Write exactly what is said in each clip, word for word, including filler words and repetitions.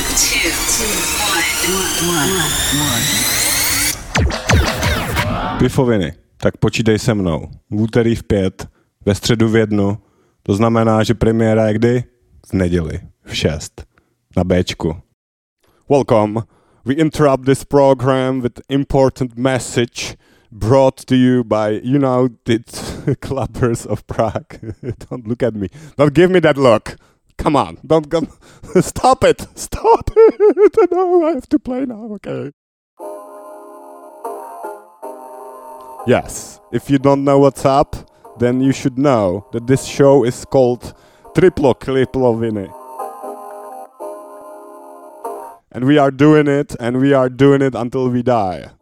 two, one, one. Pifoviny, tak počítej se mnou. V úterý v pět, ve středu v jednu, to znamená, že premiéra je kdy? V neděli, v šest, na Bčku. Welcome. We interrupt this program with important message brought to you by United Clubbers of Prague. Don't look at me. Don't give me that look. Come on. Don't go. Stop it. Stop it. No, I have to play now. Okay. Yes. If you don't know what's up, then you should know that this show is called Triplo Kliploviny. And we are doing it, and we are doing it until we die.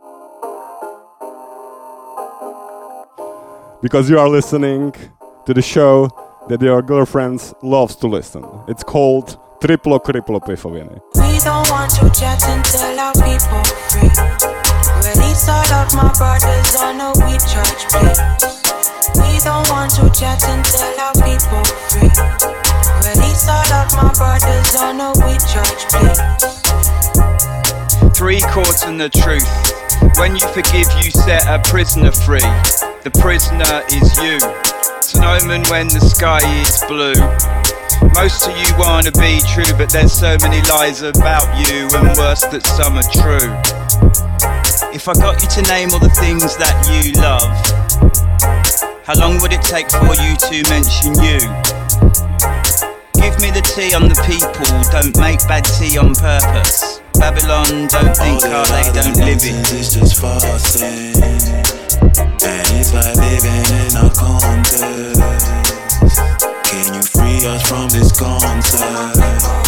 Because you are listening to the show that your girlfriends loves to listen. It's called Triplo Kriplo Pifoviny. We don't want to chat and tell our people free. Release all of my brothers on a we church, please. We don't want to chat and tell our people free. Release all of my brothers on a we church, please. Three chords and the truth. When you forgive, you set a prisoner free. The prisoner is you. It's an omen when the sky is blue. Most of you wanna be true, but there's so many lies about you, and worse that some are true. If I got you to name all the things that you love, how long would it take for you to mention you? Give me the tea on the people, don't make bad tea on purpose. Babylon don't think how they don't live it. It's just farcing, and it's like living in a contest. Can you free us from this concept?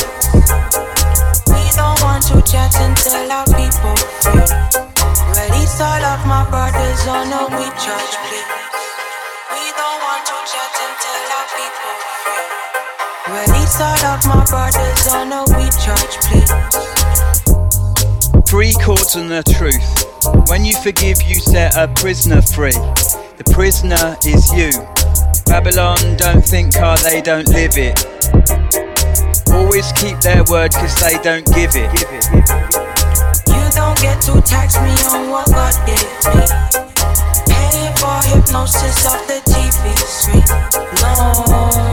We don't want to chat and tell our people free. Release all of my brothers on a we church, please. We don't want to chat and tell our people free. Release all of my brothers on a we church, please. Three chords and the truth. When you forgive, you set a prisoner free. The prisoner is you. Babylon don't think how they don't live it. Always keep their word cause they don't give it. You don't get to tax me on what God gave me. Paying for hypnosis off the T V screen. No,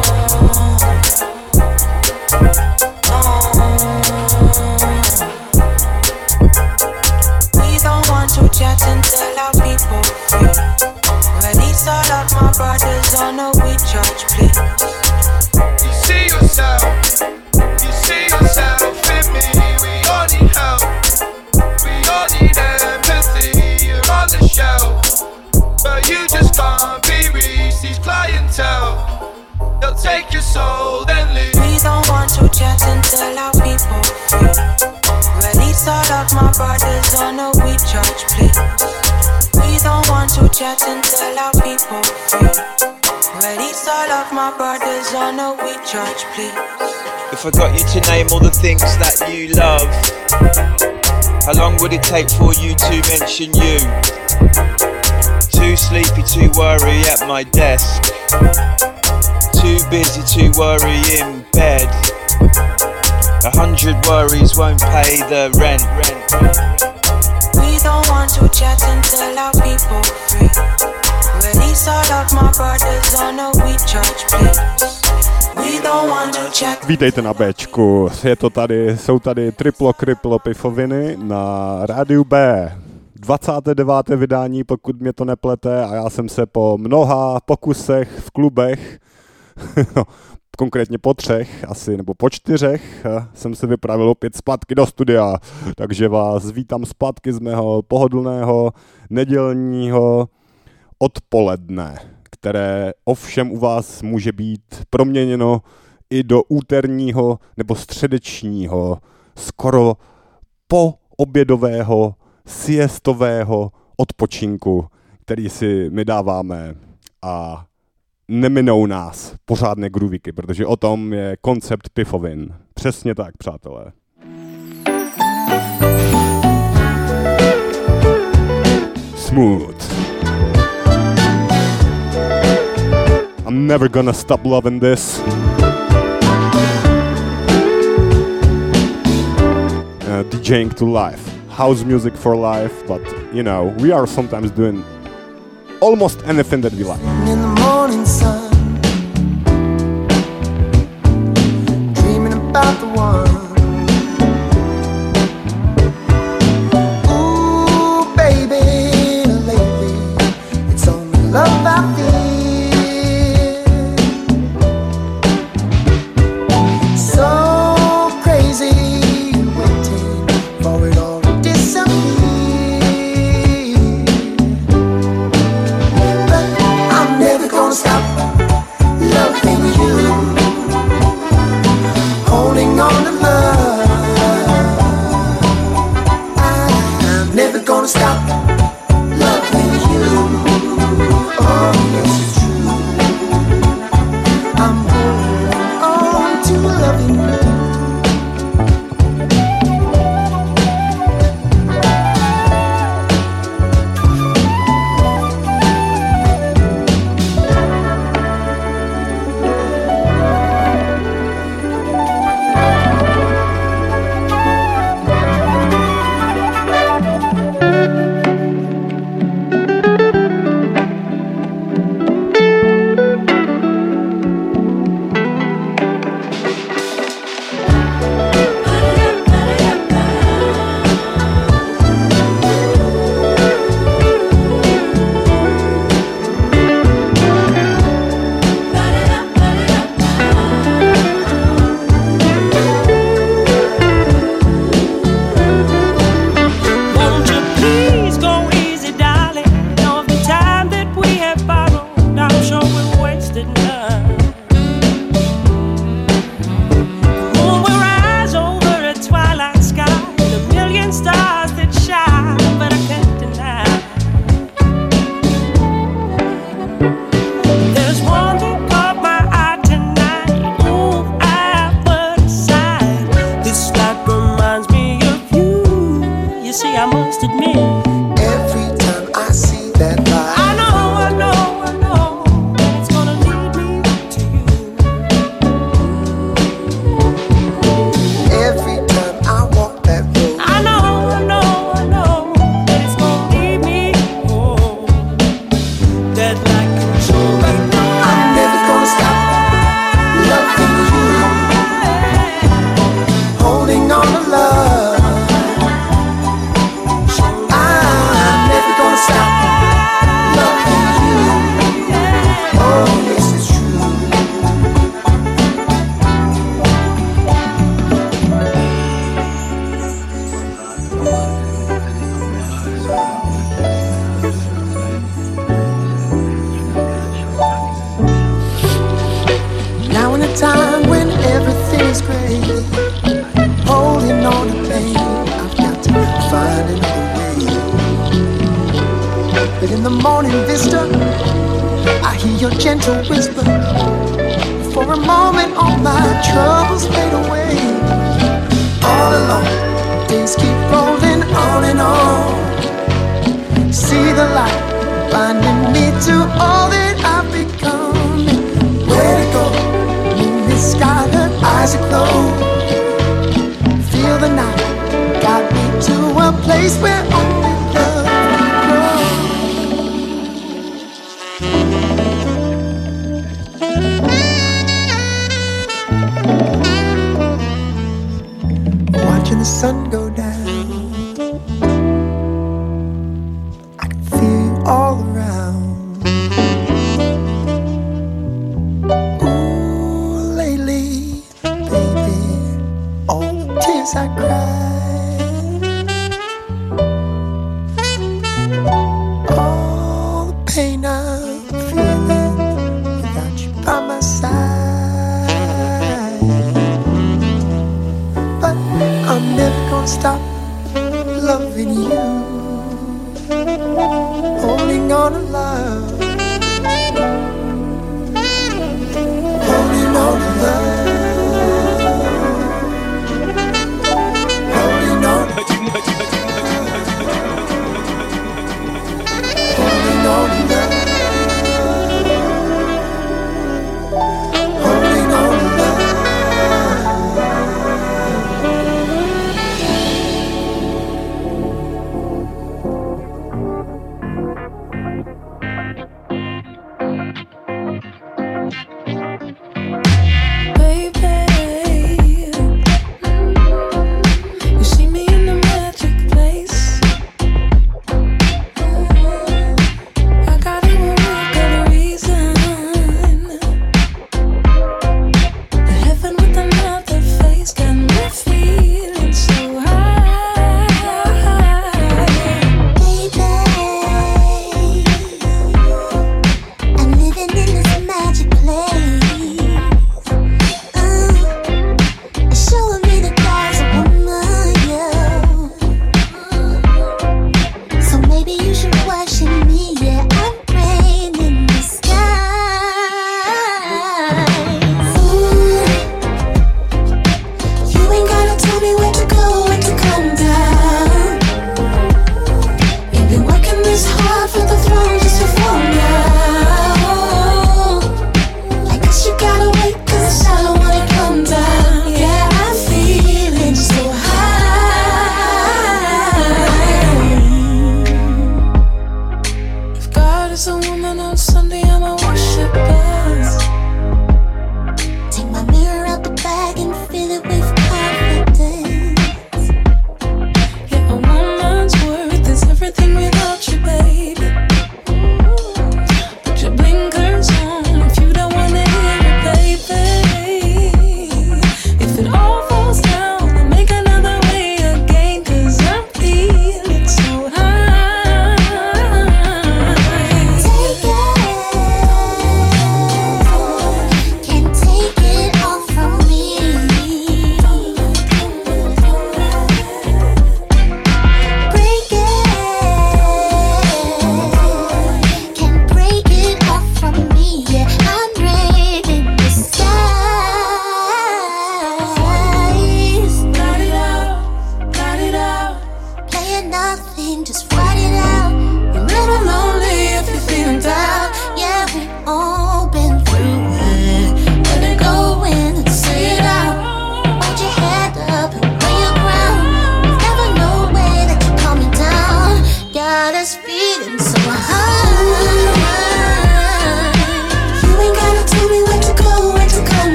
to chat and tell our people free. Release all of my brothers on a we church, please. You see yourself, you see yourself in me. We all need help, we all need empathy. You're on the shelf, but you just can't be reached. These clientele, they'll take your soul then leave. We don't want to chat and tell our people free. Release all of my brothers on a we church, please. We don't want to chat and tell our people free. Release all of my brothers on a we church, please. If I got you to name all the things that you love, how long would it take for you to mention you? Too sleepy to worry at my desk, too busy to worry in bed. A hundred worries won't pay the rent. We don't want to chat and tell our people free. Release all of my brothers on a we church, please. We don't want to chat. Vítejte na Bčku. Je to tady, jsou tady Triplo Kriplo Pifoviny na rádiu B. dvacáté deváté vydání, pokud mě to neplete, a já jsem se po mnoha pokusech v klubech konkrétně po třech, asi, nebo po čtyřech, jsem se vypravil opět zpátky do studia, takže vás vítám zpátky z mého pohodlného nedělního odpoledne, které ovšem u vás může být proměněno i do úterního nebo středečního, skoro po obědového, siestového odpočinku, který si my dáváme, a neminou nás pořádné groovíky, protože o tom je koncept Pifovin. Přesně tak, přátelé. Smooth. I'm never gonna stop loving this. DJing to life, house music for life, but you know, we are sometimes doing almost anything that we like. In the morning sun, dreaming about the one. Ooh, baby, lately it's only love I feel. So crazy, waiting for it all to disappear. But I'm never gonna stop loving you, holding on to love. I'm never gonna stop loving you. Oh, yes, it's true. I'm holding on to loving you.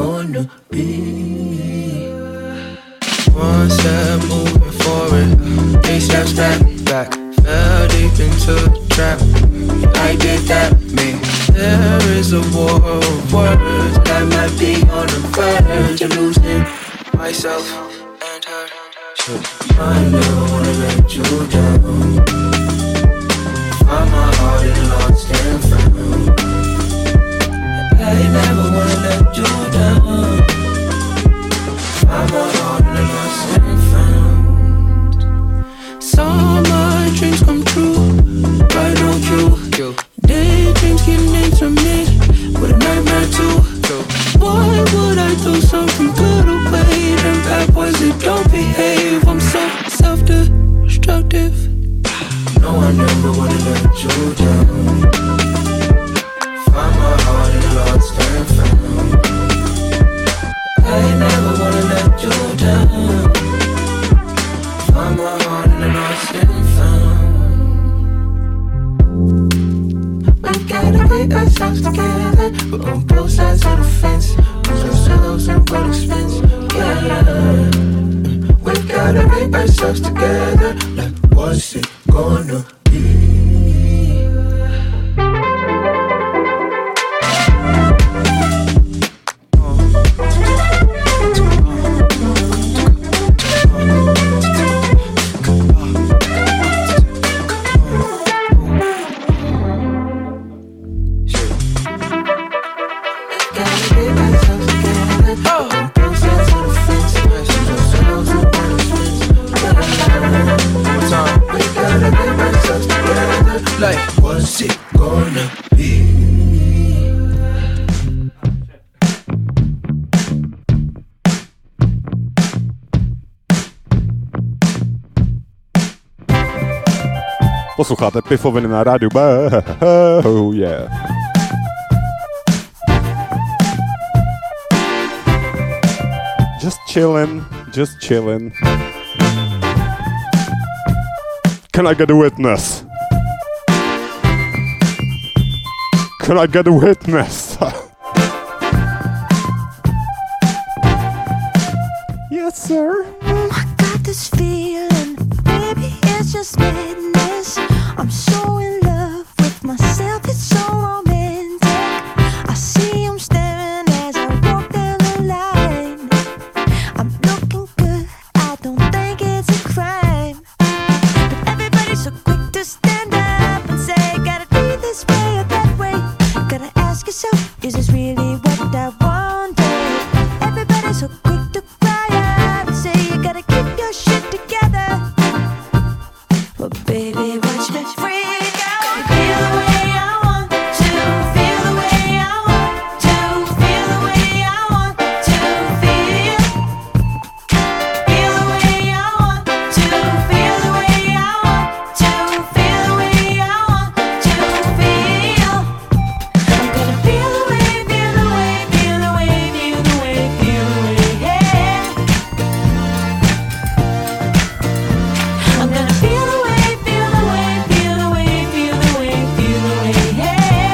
gonna be. One step moving forward, eight steps back, back. Fell deep into the trap. I did that, me. There is a war of words that might be on the verge of losing myself and her. I never wanna let you down. Find my heart and lost and found. I never wanna let you down. Find my heart and lost and found. Saw my dreams come true, right on cue. Daydreams give names to me, with a nightmare too. Why would I do something good away? Them bad boys, they don't behave. I'm so self-destructive. No, I never wanna let you down. Find my heart and lost and found. I never wanna let you down. Find my heart and lost and found. We gotta get ourselves together. We're on both sides of the fence. Lose ourselves in what expense. Yeah. We gotta get ourselves together. Like, what's it gonna be? Like, what's it gonna be? Posloucháte Pifoviny na rádiu B. Oh yeah. Just chillin', just chillin'. Can I get a witness? Can I get a witness? Yes, sir. Mm, I got this feeling, baby, it's just madness. I'm so in love with myself, it's so romantic. I see him staring as I walk down the line. I'm looking good, I don't think it's a crime. But everybody's so quick to stand up and say, gotta be this way or that way. Gotta ask yourself, is this really what I wanted? Everybody's so quick to cry out and say, you gotta keep your shit together. But baby, watch me freak out. Feel the way I want to, feel the way I want to, feel the way I want to feel. Feel the way I want to, feel the way I want to, feel the way I want to feel. I'm gonna feel the way, feel the way, feel the way, feel the way, feel the way, yeah. I'm gonna feel the way, feel the way, feel the way, feel the way, feel the way, yeah.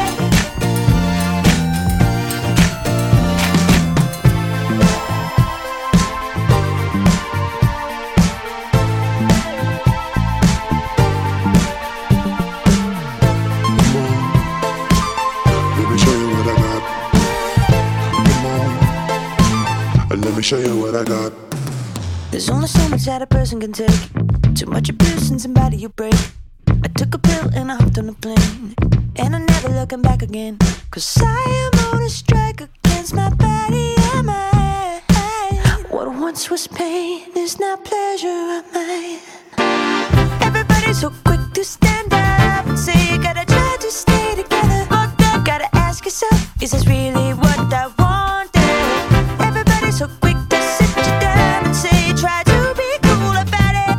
Let me show you what I got. Come on, let me show you what I got. There's only so much that a person can take. Too much abuse and somebody you break. I took a pill and I hopped on a plane, and I'm never looking back again. Cause I am on a strike against my body and mind. What once was pain is now pleasure of mine. Everybody's so quick to stand up and say you gotta try to stay together. Gotta ask yourself, is this really what I wanted? Everybody's so quick to sit you down and say try to be cool about it.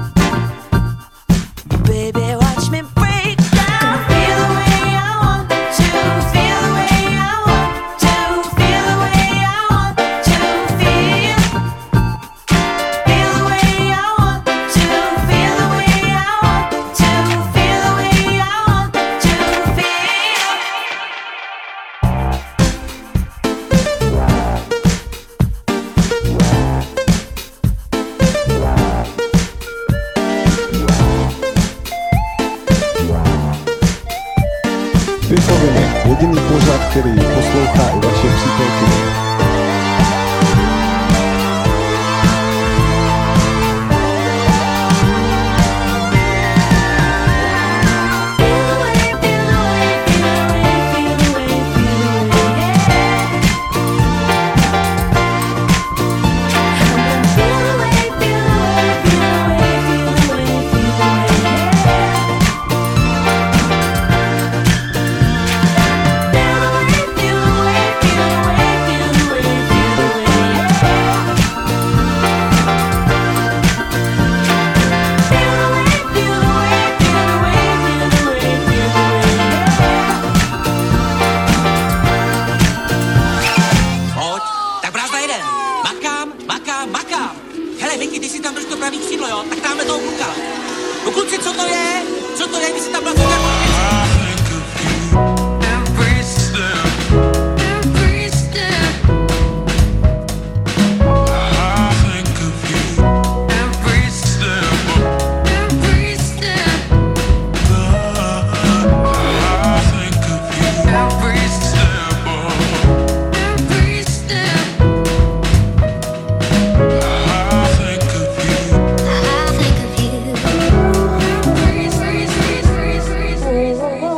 Baby, watch me break down. Gonna feel the way I want to, feel the way I want to, feel the way I want to feel. Feel the way I want to, feel the way I want to, feel the way I want to feel. Makám, makám, makám. Hele, Vicky, ty si tam drž to pravý křídlo, jo? Tak dáme toho kluka. No kluci, co to je? Co to je? Vy si tam vlastně Oh,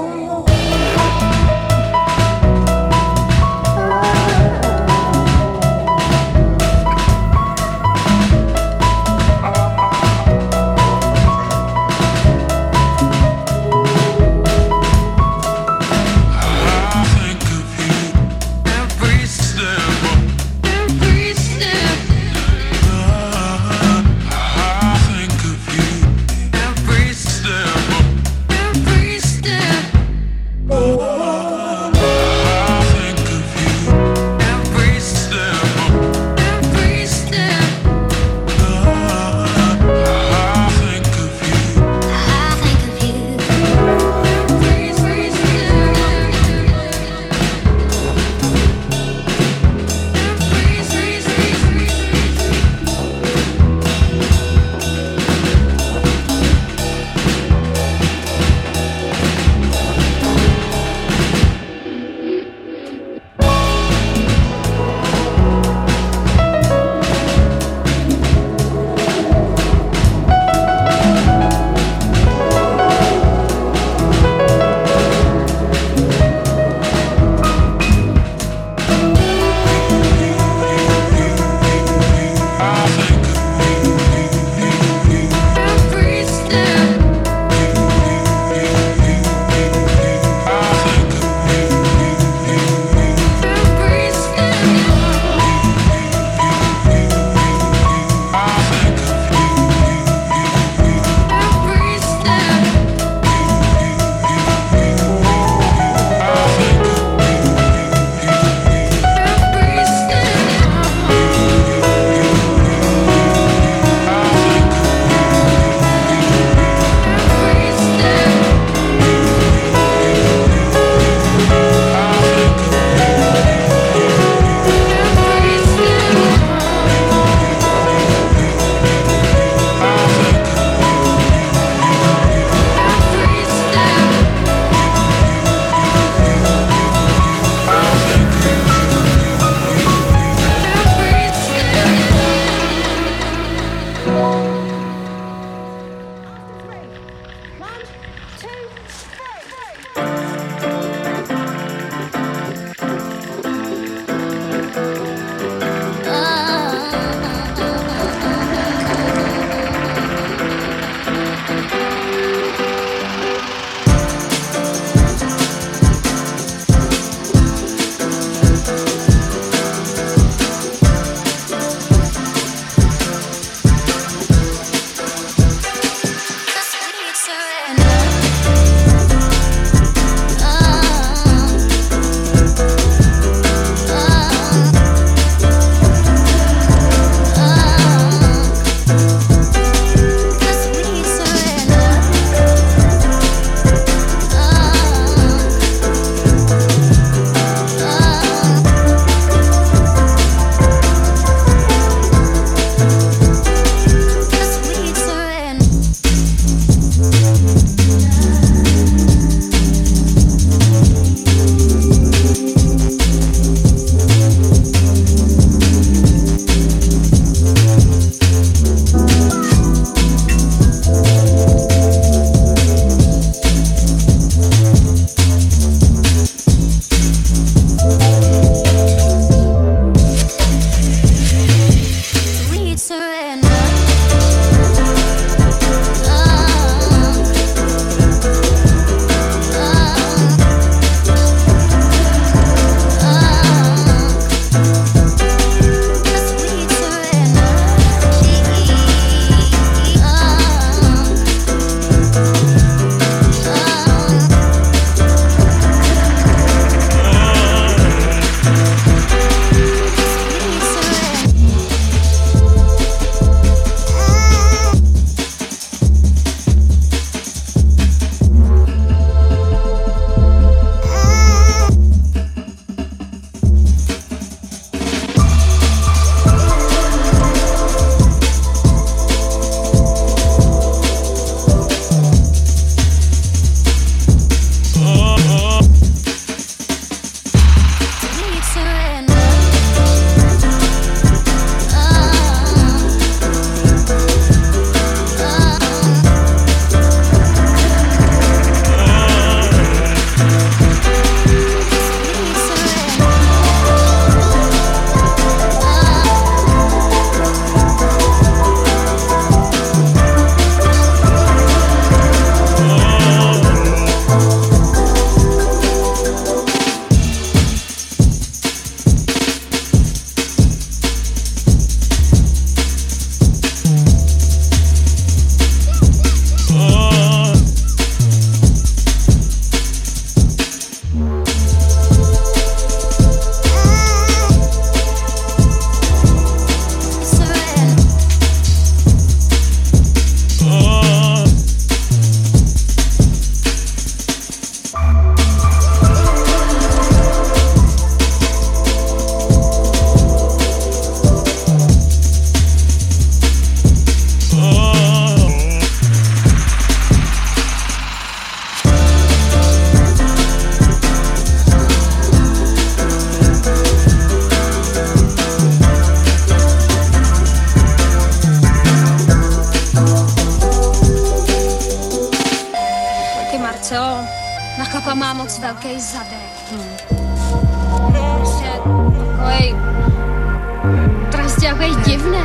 Papa má moc velký zadek. Hmm. Prostě takovej... Prostě takovej divnej.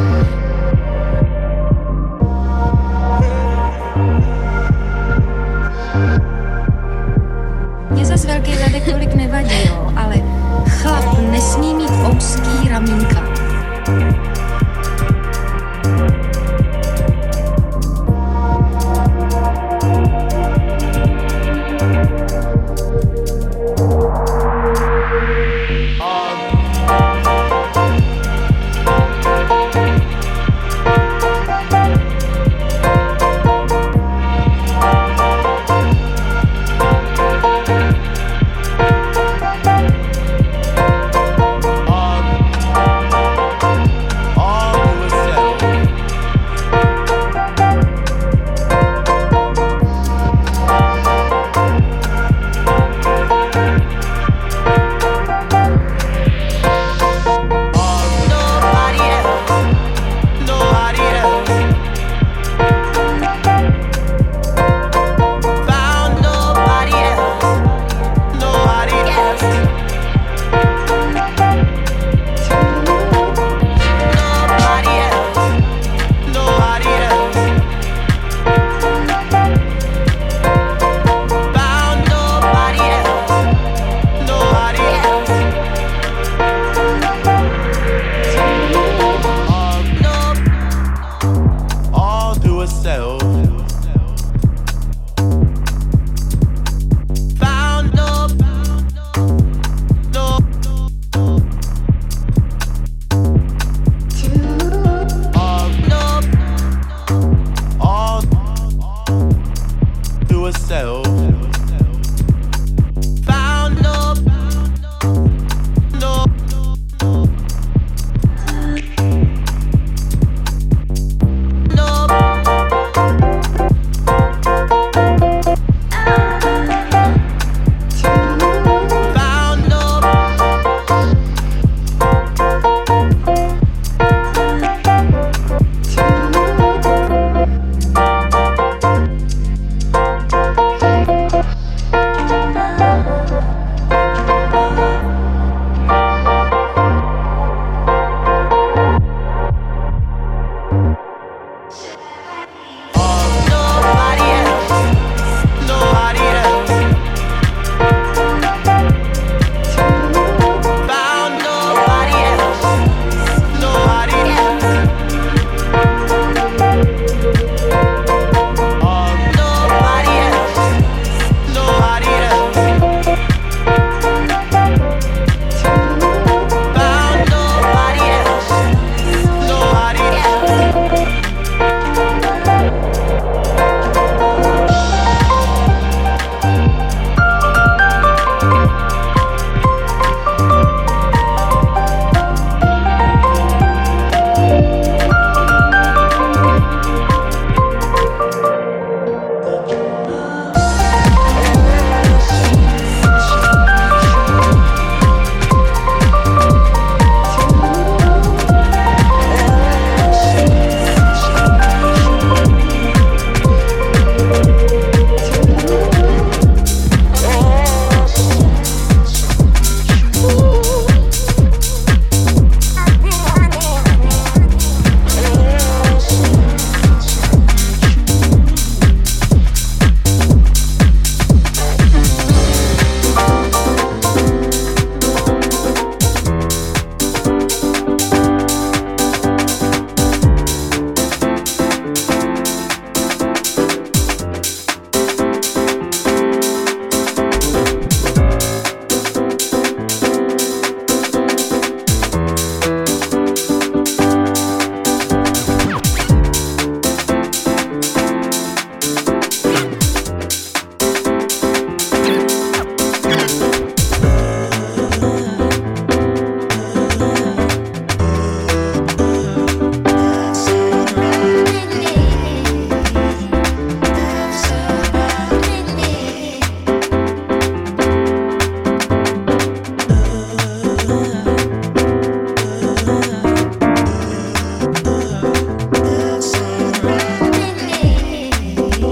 Mně zas velký zadek tolik nevadí, jo, ale chlap nesmí mít úzký ramínka. Um,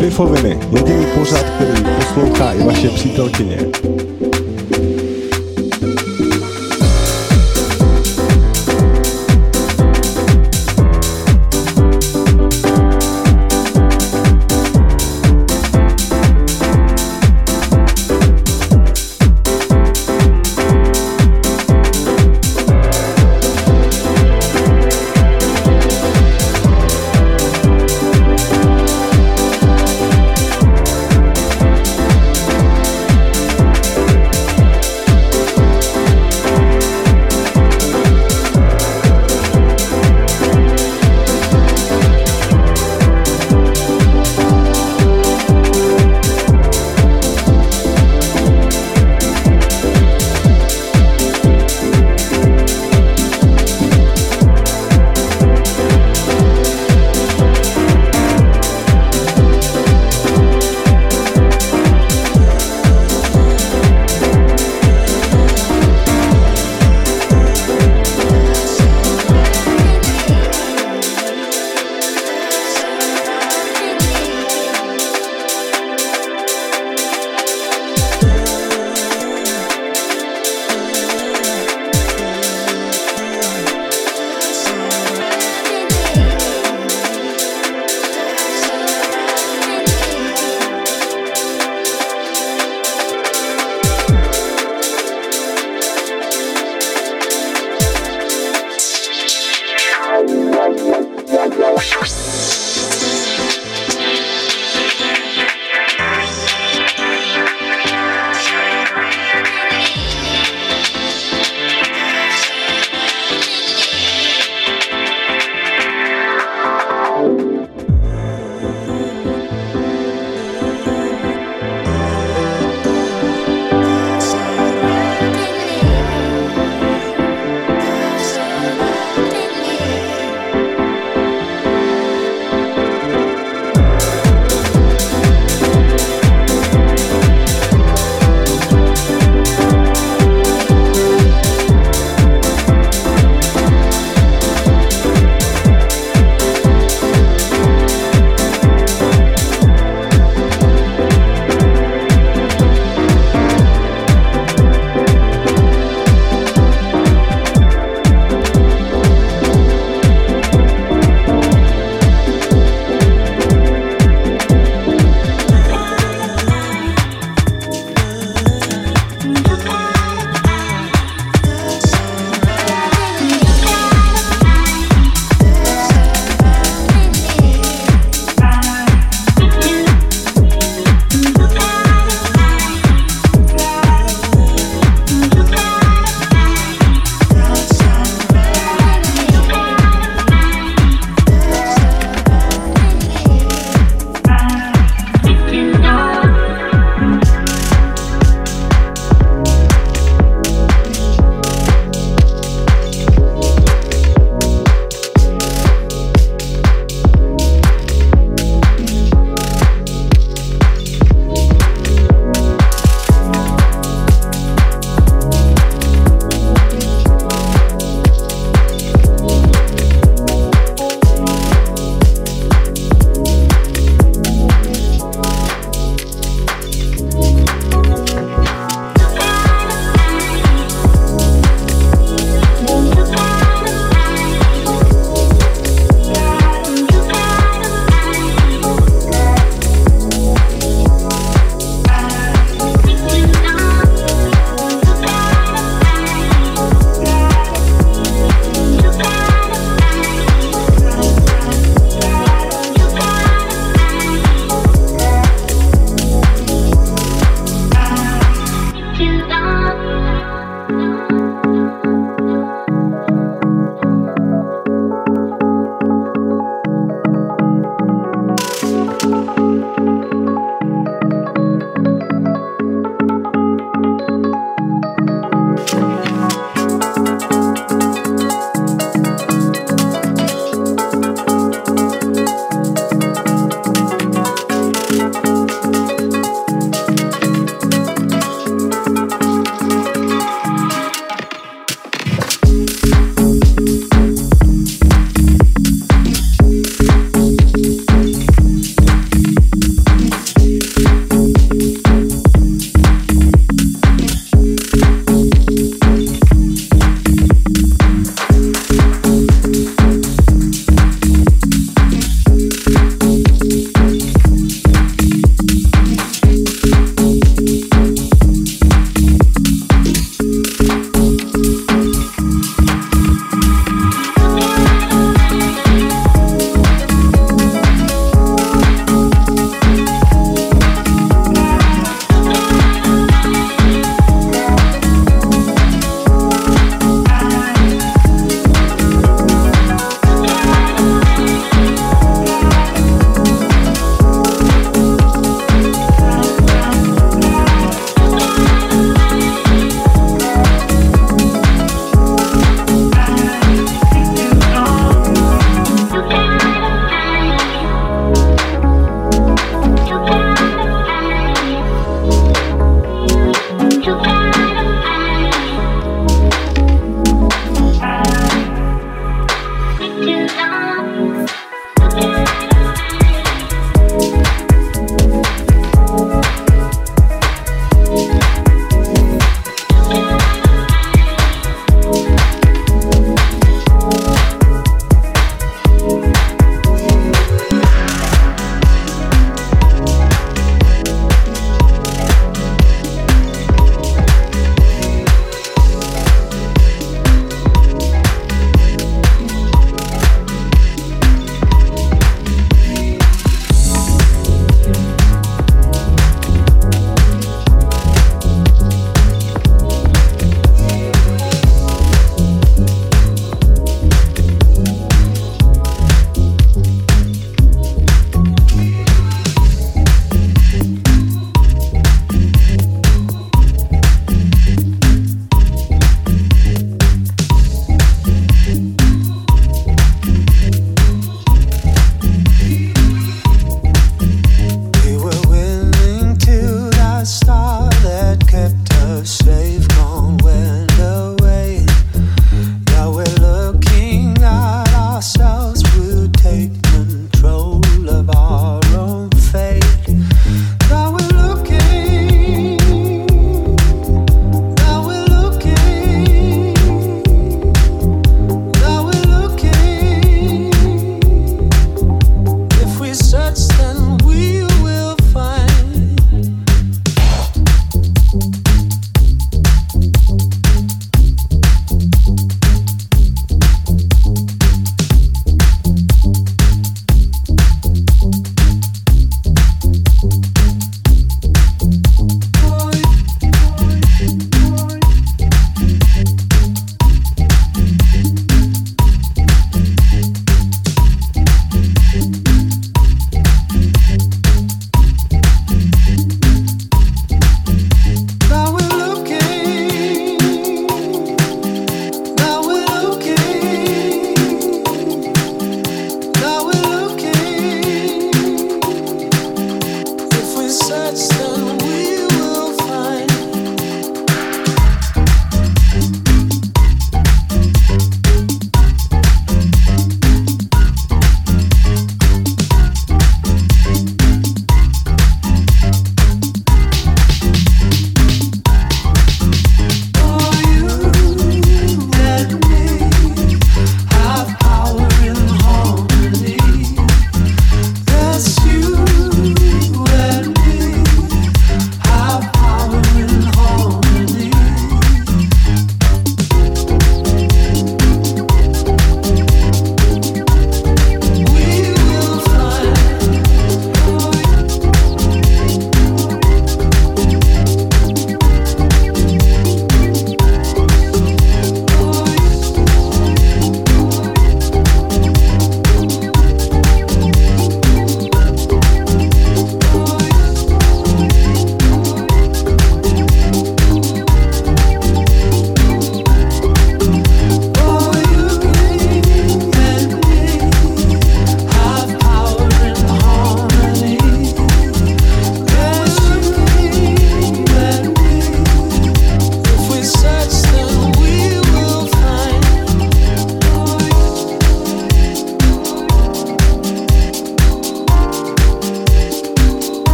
Pifoviny, jediný pořad, který poslouchá i vaše přítelkyně.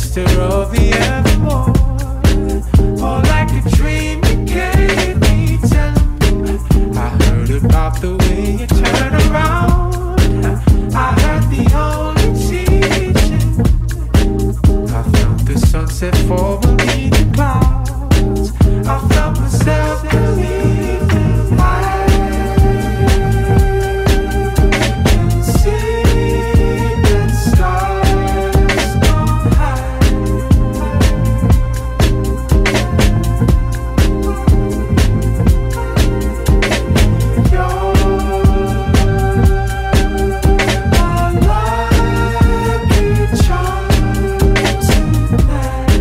master of the evermore. More like a dream you gave me, telling me I heard about the way you turn around. I heard the only teaching. I felt the sunset fall beneath the clouds. I felt myself believing I can see that stars don't hide. You're my lucky charm tonight.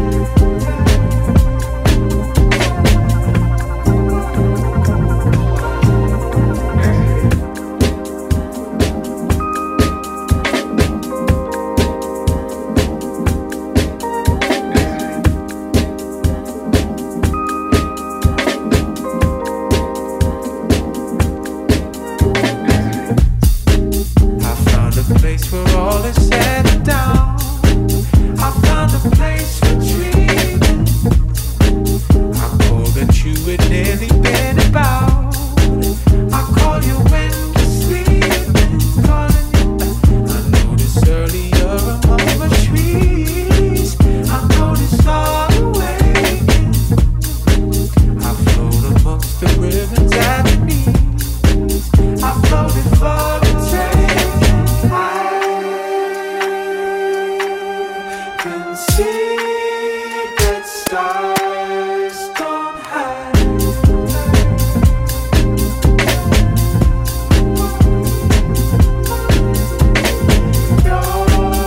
I found a place where all is said and done. I found a place for dreaming. I called at you had nearly been about. I call you when you're sleeping, calling you. I noticed earlier among the trees. I noticed all the way. I float amongst the ribbons at the knees. I floated for the taking. I can see that stars don't hide. You're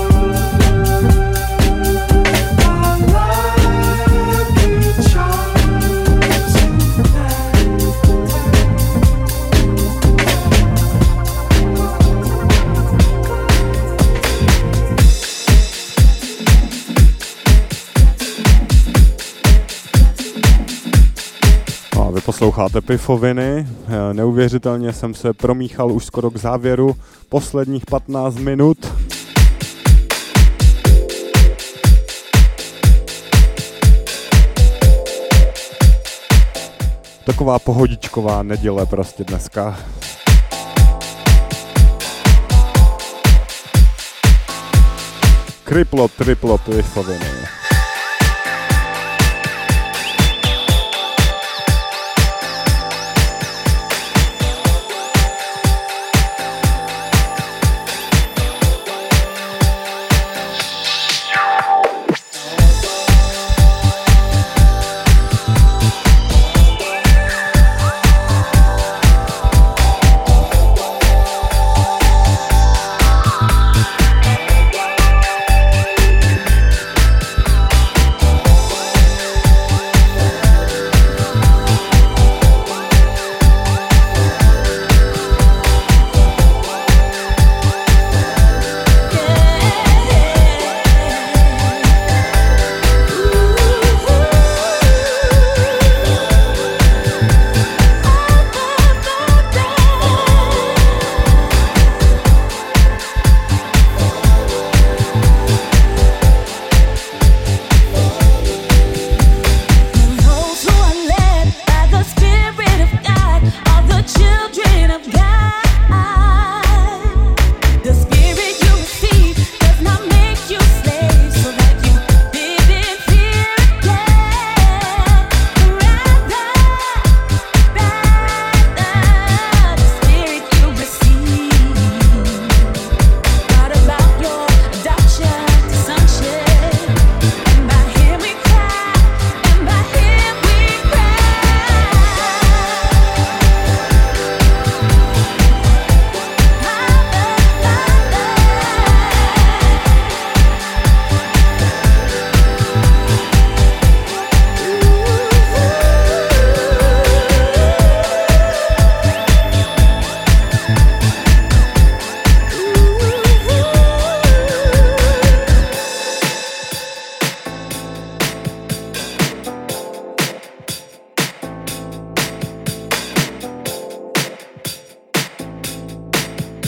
my lucky charm tonight. A vy posloucháte Pifoviny. Neuvěřitelně jsem se promíchal už skoro k závěru posledních patnáct minut. Taková pohodičková neděle prostě dneska. Kriplo, triplo, Pifoviny.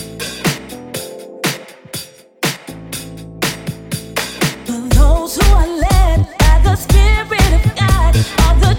those who are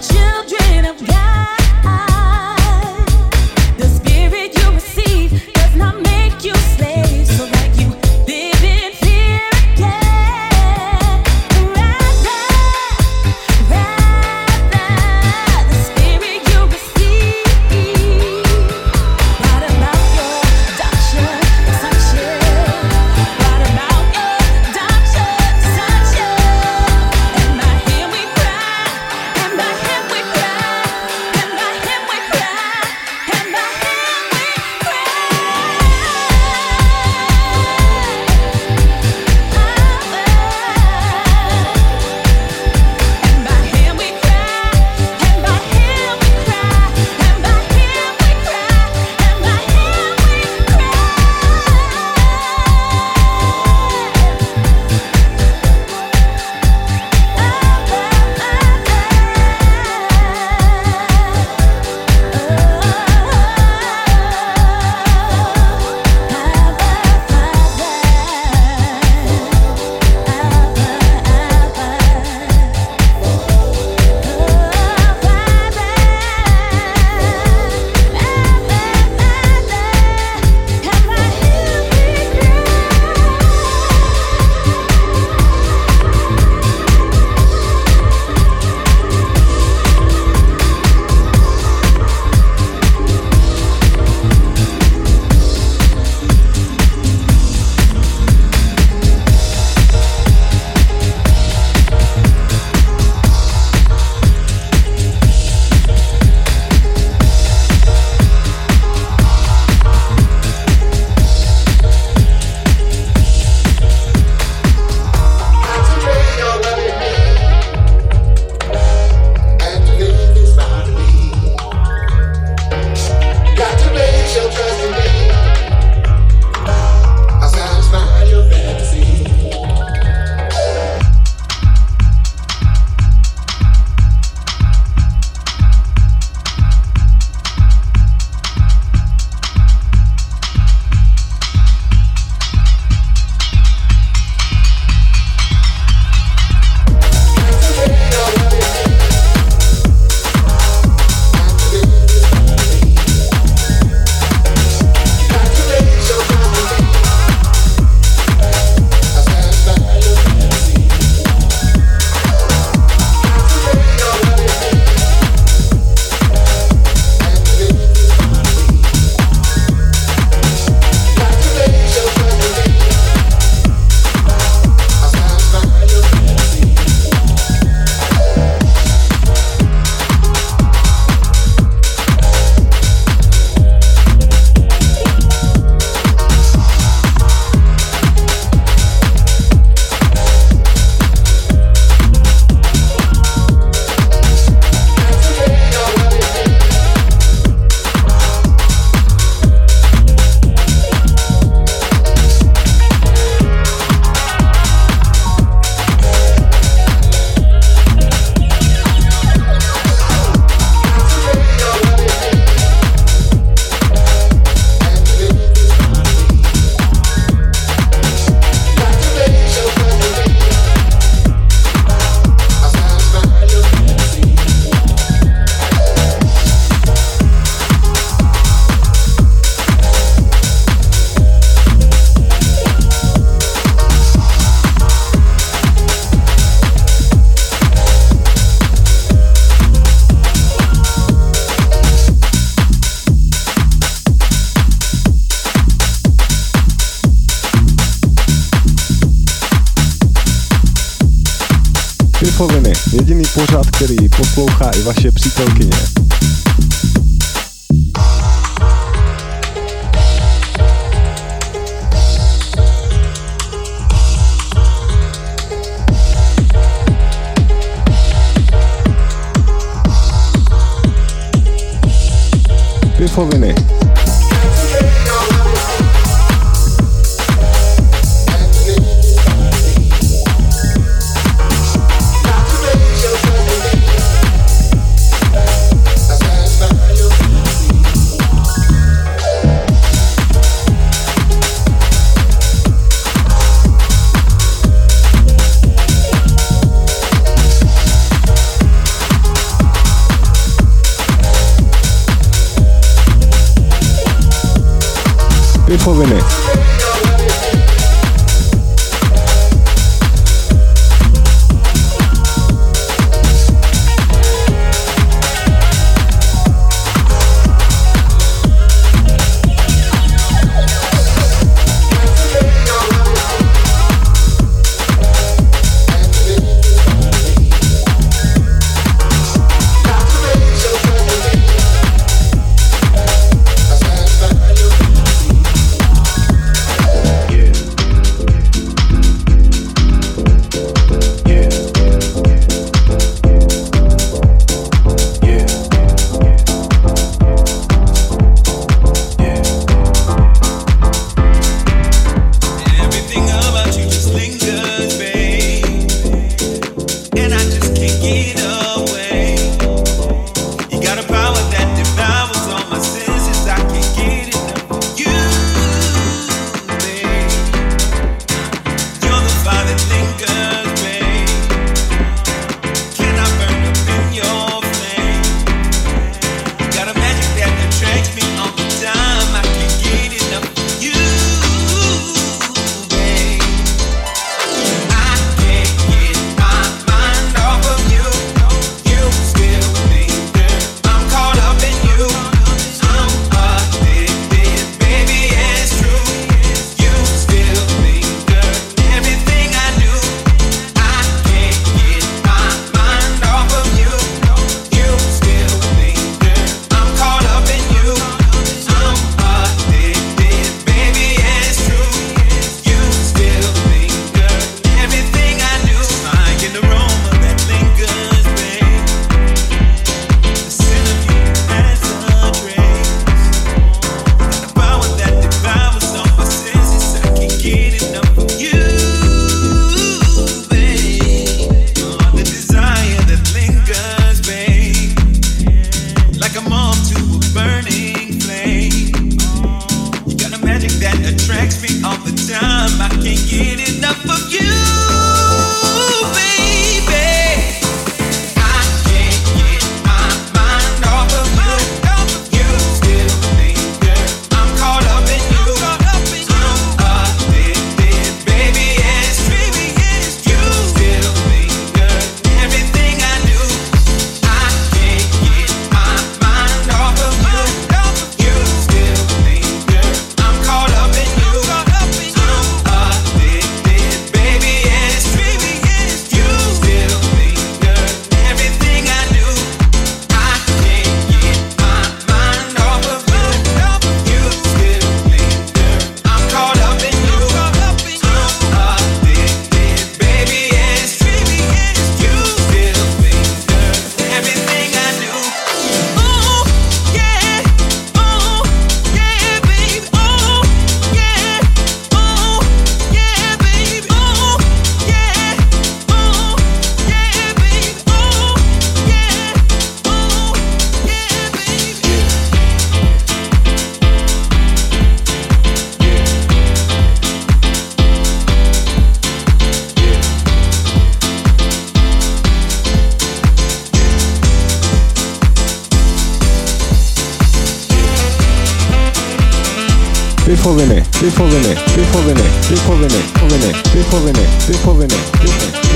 Pifoviny, jediný pořad, který poslouchá i vaše přítelkyně. Pifoviny. Pifoviny. Pifoviny, pifoviny, pifoviny, pifoviny, pifoviny, pifoviny, pifoviny, pifoviny.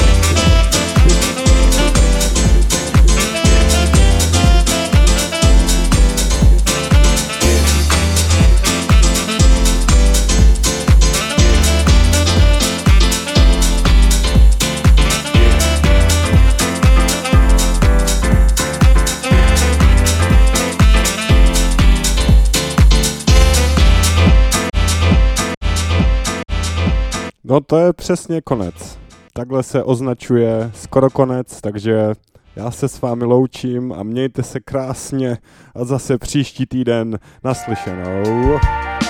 No to je přesně konec. Takhle se označuje skoro konec, takže já se s vámi loučím a mějte se krásně a zase příští týden naslyšenou.